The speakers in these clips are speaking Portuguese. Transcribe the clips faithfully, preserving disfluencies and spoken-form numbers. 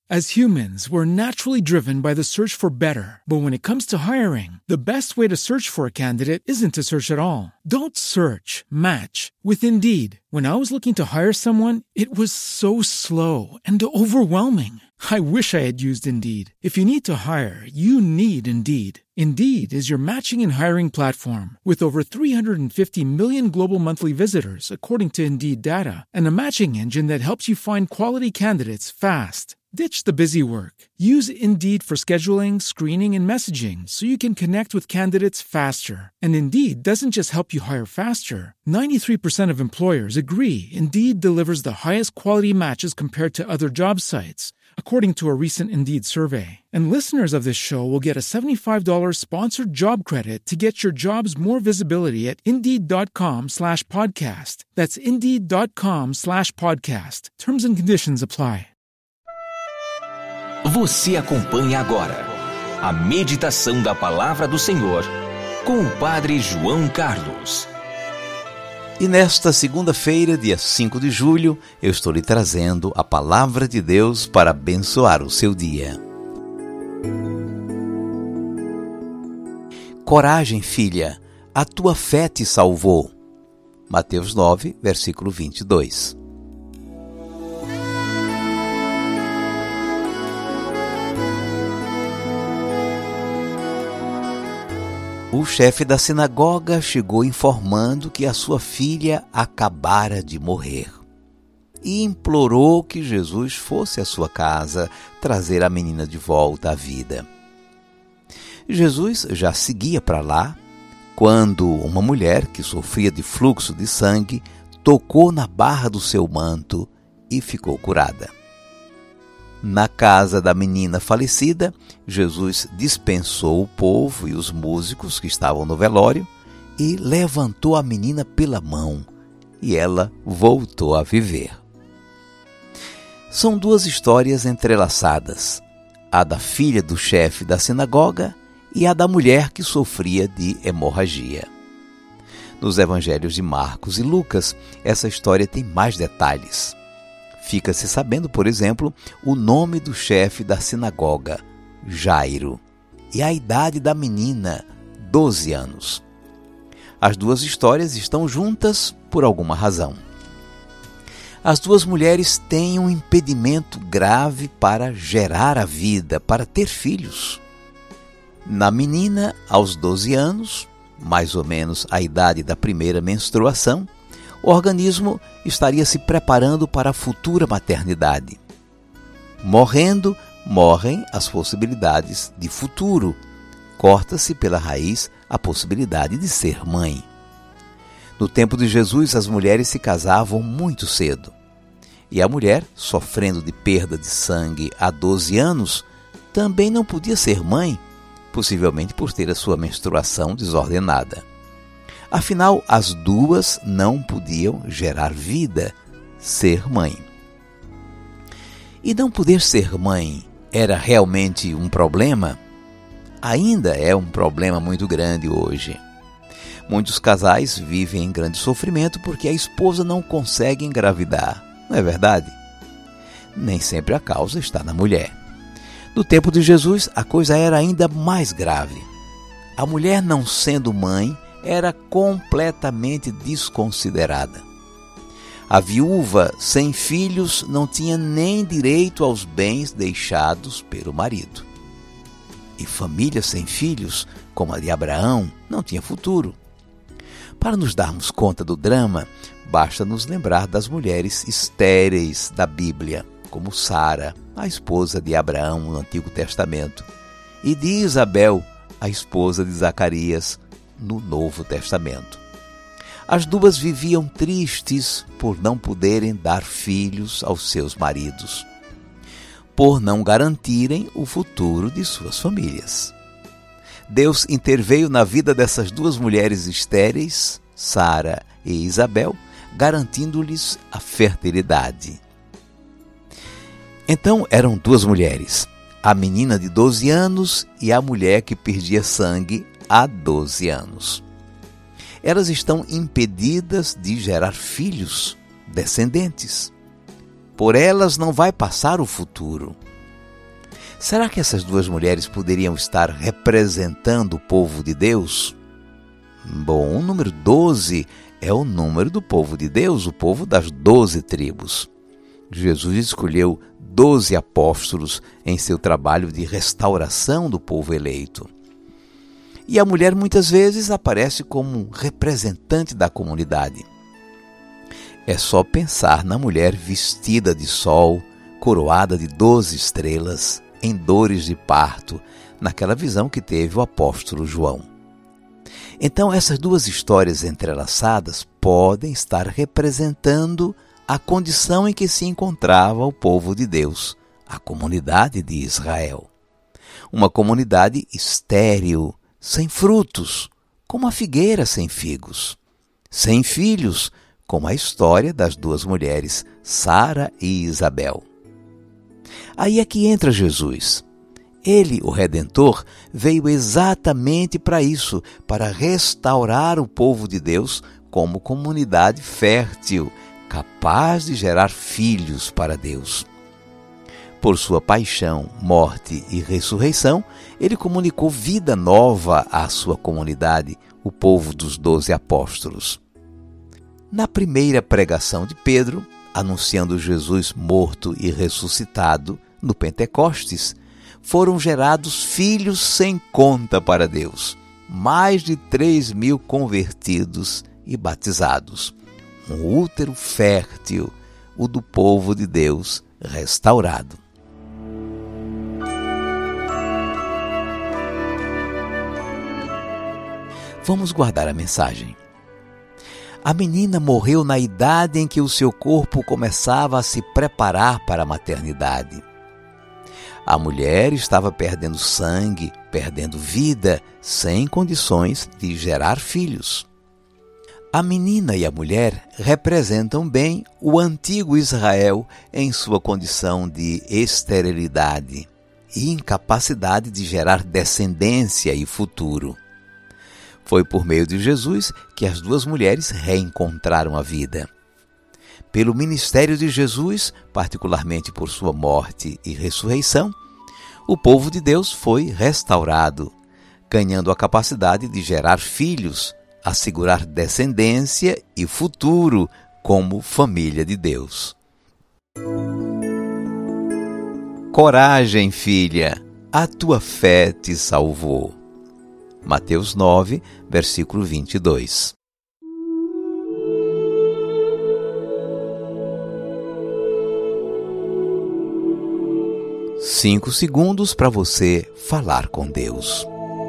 As humans, we're naturally driven by the search for better. But when it comes to hiring, the best way to search for a candidate isn't to search at all. Don't search, match with Indeed. When I was looking to hire someone, it was so slow and overwhelming. I wish I had used Indeed. If you need to hire, you need Indeed. Indeed is your matching and hiring platform with over three hundred fifty million global monthly visitors, according to Indeed data, and a matching engine that helps you find quality candidates fast. Ditch the busy work. Use Indeed for scheduling, screening, and messaging so you can connect with candidates faster. And Indeed doesn't just help you hire faster. ninety-three percent of employers agree Indeed delivers the highest quality matches compared to other job sites, according to a recent Indeed survey. And listeners of this show will get a seventy-five dollars sponsored job credit to get your jobs more visibility at Indeed.com slash podcast. That's Indeed.com slash podcast. Terms and conditions apply. Você acompanha agora a meditação da Palavra do Senhor com o Padre João Carlos. E nesta segunda-feira, dia cinco de julho, eu estou lhe trazendo a Palavra de Deus para abençoar o seu dia. Coragem, filha, a tua fé te salvou. Mateus nove, versículo vinte e dois. O chefe da sinagoga chegou informando que a sua filha acabara de morrer e implorou que Jesus fosse à sua casa trazer a menina de volta à vida. Jesus já seguia para lá quando uma mulher que sofria de fluxo de sangue tocou na barra do seu manto e ficou curada. Na casa da menina falecida, Jesus dispensou o povo e os músicos que estavam no velório e levantou a menina pela mão, e ela voltou a viver. São duas histórias entrelaçadas, a da filha do chefe da sinagoga e a da mulher que sofria de hemorragia. Nos evangelhos de Marcos e Lucas, essa história tem mais detalhes. Fica-se sabendo, por exemplo, o nome do chefe da sinagoga, Jairo, e a idade da menina, doze anos. As duas histórias estão juntas por alguma razão. As duas mulheres têm um impedimento grave para gerar a vida, para ter filhos. Na menina, aos doze anos, mais ou menos a idade da primeira menstruação, o organismo estaria se preparando para a futura maternidade. Morrendo, morrem as possibilidades de futuro. Corta-se pela raiz a possibilidade de ser mãe. No tempo de Jesus, as mulheres se casavam muito cedo. E a mulher, sofrendo de perda de sangue há doze anos, também não podia ser mãe, possivelmente por ter a sua menstruação desordenada. Afinal, as duas não podiam gerar vida, ser mãe. E não poder ser mãe era realmente um problema? Ainda é um problema muito grande hoje. Muitos casais vivem em grande sofrimento porque a esposa não consegue engravidar, não é verdade? Nem sempre a causa está na mulher. No tempo de Jesus, a coisa era ainda mais grave. A mulher, não sendo mãe, era completamente desconsiderada. A viúva sem filhos não tinha nem direito aos bens deixados pelo marido. E família sem filhos, como a de Abraão, não tinha futuro. Para nos darmos conta do drama, basta nos lembrar das mulheres estéreis da Bíblia, como Sara, a esposa de Abraão no Antigo Testamento, e de Isabel, a esposa de Zacarias, no Novo Testamento. As duas viviam tristes por não poderem dar filhos aos seus maridos, por não garantirem o futuro de suas famílias. Deus interveio na vida dessas duas mulheres estéreis, Sara e Isabel, garantindo-lhes a fertilidade. Então eram duas mulheres, a menina de doze anos e a mulher que perdia sangue há doze anos. Elas estão impedidas de gerar filhos, descendentes. Por elas não vai passar o futuro. Será que essas duas mulheres poderiam estar representando o povo de Deus? Bom, o número doze é o número do povo de Deus, o povo das doze tribos. Jesus escolheu doze apóstolos em seu trabalho de restauração do povo eleito. E a mulher muitas vezes aparece como representante da comunidade. É só pensar na mulher vestida de sol, coroada de doze estrelas, em dores de parto, naquela visão que teve o apóstolo João. Então, essas duas histórias entrelaçadas podem estar representando a condição em que se encontrava o povo de Deus, a comunidade de Israel. Uma comunidade estéril, sem frutos, como a figueira sem figos, sem filhos, como a história das duas mulheres, Sara e Isabel. Aí é que entra Jesus. Ele, o Redentor, veio exatamente para isso, para restaurar o povo de Deus como comunidade fértil, capaz de gerar filhos para Deus. Por sua paixão, morte e ressurreição, ele comunicou vida nova à sua comunidade, o povo dos doze apóstolos. Na primeira pregação de Pedro, anunciando Jesus morto e ressuscitado, no Pentecostes, foram gerados filhos sem conta para Deus, mais de três mil convertidos e batizados. Um útero fértil, o do povo de Deus restaurado. Vamos guardar a mensagem. A menina morreu na idade em que o seu corpo começava a se preparar para a maternidade. A mulher estava perdendo sangue, perdendo vida, sem condições de gerar filhos. A menina e a mulher representam bem o antigo Israel em sua condição de esterilidade e incapacidade de gerar descendência e futuro. Foi por meio de Jesus que as duas mulheres reencontraram a vida. Pelo ministério de Jesus, particularmente por sua morte e ressurreição, o povo de Deus foi restaurado, ganhando a capacidade de gerar filhos, assegurar descendência e futuro como família de Deus. Coragem, filha, a tua fé te salvou. Mateus nove, versículo vinte e dois. Cinco segundos para você falar com Deus.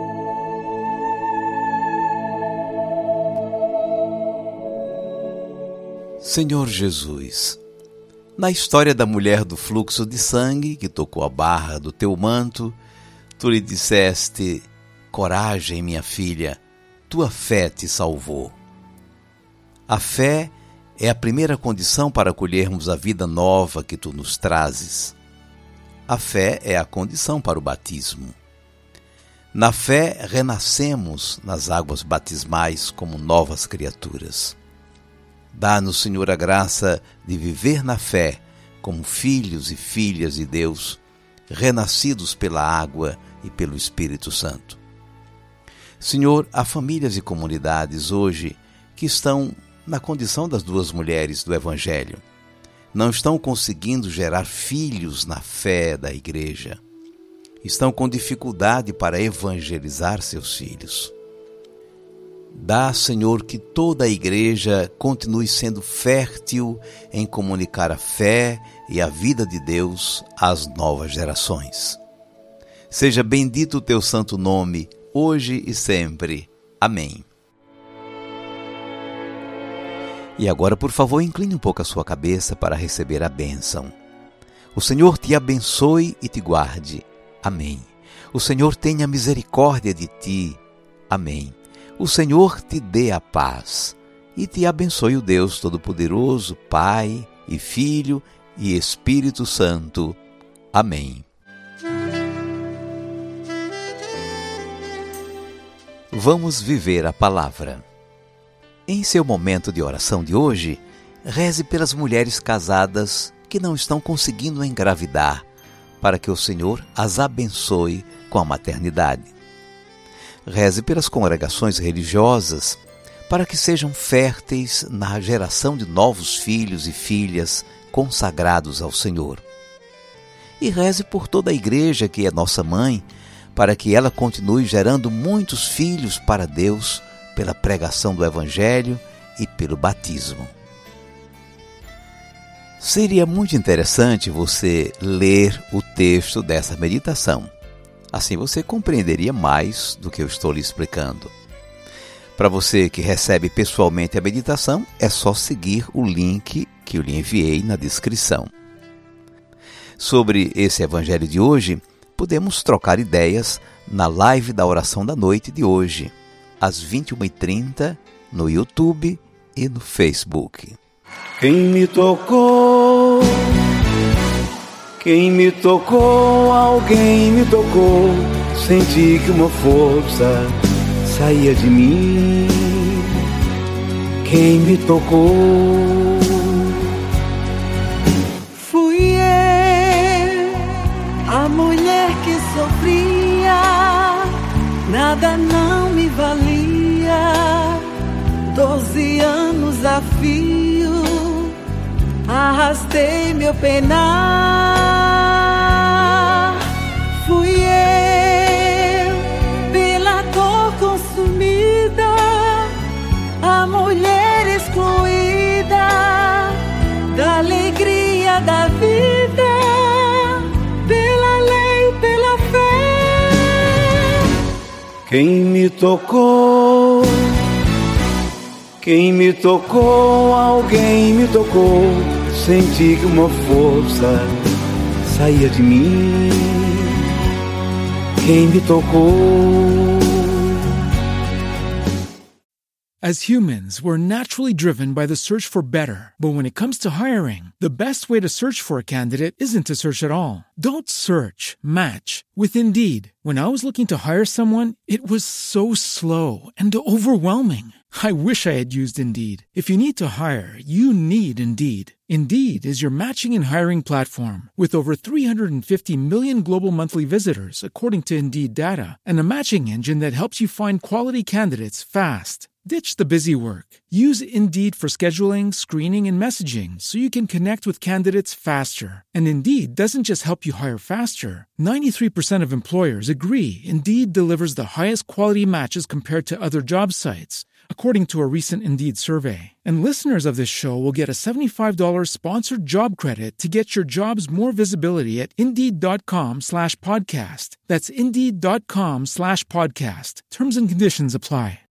Senhor Jesus, na história da mulher do fluxo de sangue que tocou a barra do teu manto, tu lhe disseste: coragem, minha filha, tua fé te salvou. A fé é a primeira condição para colhermos a vida nova que tu nos trazes. A fé é a condição para o batismo. Na fé, renascemos nas águas batismais como novas criaturas. Dá-nos, Senhor, a graça de viver na fé como filhos e filhas de Deus, renascidos pela água e pelo Espírito Santo. Senhor, há famílias e comunidades hoje que estão na condição das duas mulheres do Evangelho. Não estão conseguindo gerar filhos na fé da igreja. Estão com dificuldade para evangelizar seus filhos. Dá, Senhor, que toda a igreja continue sendo fértil em comunicar a fé e a vida de Deus às novas gerações. Seja bendito o teu santo nome, hoje e sempre. Amém. E agora, por favor, incline um pouco a sua cabeça para receber a bênção. O Senhor te abençoe e te guarde. Amém. O Senhor tenha misericórdia de ti. Amém. O Senhor te dê a paz e te abençoe o Deus Todo-Poderoso, Pai e Filho e Espírito Santo. Amém. Vamos viver a palavra. Em seu momento de oração de hoje, reze pelas mulheres casadas que não estão conseguindo engravidar, para que o Senhor as abençoe com a maternidade. Reze pelas congregações religiosas para que sejam férteis na geração de novos filhos e filhas consagrados ao Senhor. E reze por toda a igreja que é nossa mãe, para que ela continue gerando muitos filhos para Deus pela pregação do Evangelho e pelo batismo. Seria muito interessante você ler o texto dessa meditação. Assim você compreenderia mais do que eu estou lhe explicando. Para você que recebe pessoalmente a meditação, é só seguir o link que eu lhe enviei na descrição. Sobre esse Evangelho de hoje, podemos trocar ideias na live da oração da noite de hoje, às vinte e uma e trinta, no YouTube e no Facebook. Quem me tocou, quem me tocou, alguém me tocou, senti que uma força saía de mim. Quem me tocou fui eu, a mulher que sofria, nada não me valia, doze anos a fio, arrastei meu penar. Fui eu, pela dor consumida, a mulher excluída da alegria da vida, pela lei, pela fé. Quem me tocou, quem me tocou, alguém me tocou, senti que uma força saía de mim. Quem me tocou. As humans, we're naturally driven by the search for better. But when it comes to hiring, the best way to search for a candidate isn't to search at all. Don't search, match with Indeed. When I was looking to hire someone, it was so slow and overwhelming. I wish I had used Indeed. If you need to hire, you need Indeed. Indeed is your matching and hiring platform with over three hundred fifty million global monthly visitors, according to Indeed data, and a matching engine that helps you find quality candidates fast. Ditch the busy work. Use Indeed for scheduling, screening, and messaging so you can connect with candidates faster. And Indeed doesn't just help you hire faster. ninety-three percent of employers agree Indeed delivers the highest quality matches compared to other job sites, according to a recent Indeed survey. And listeners of this show will get a seventy-five dollars sponsored job credit to get your jobs more visibility at Indeed.com slash podcast. That's Indeed.com slash podcast. Terms and conditions apply.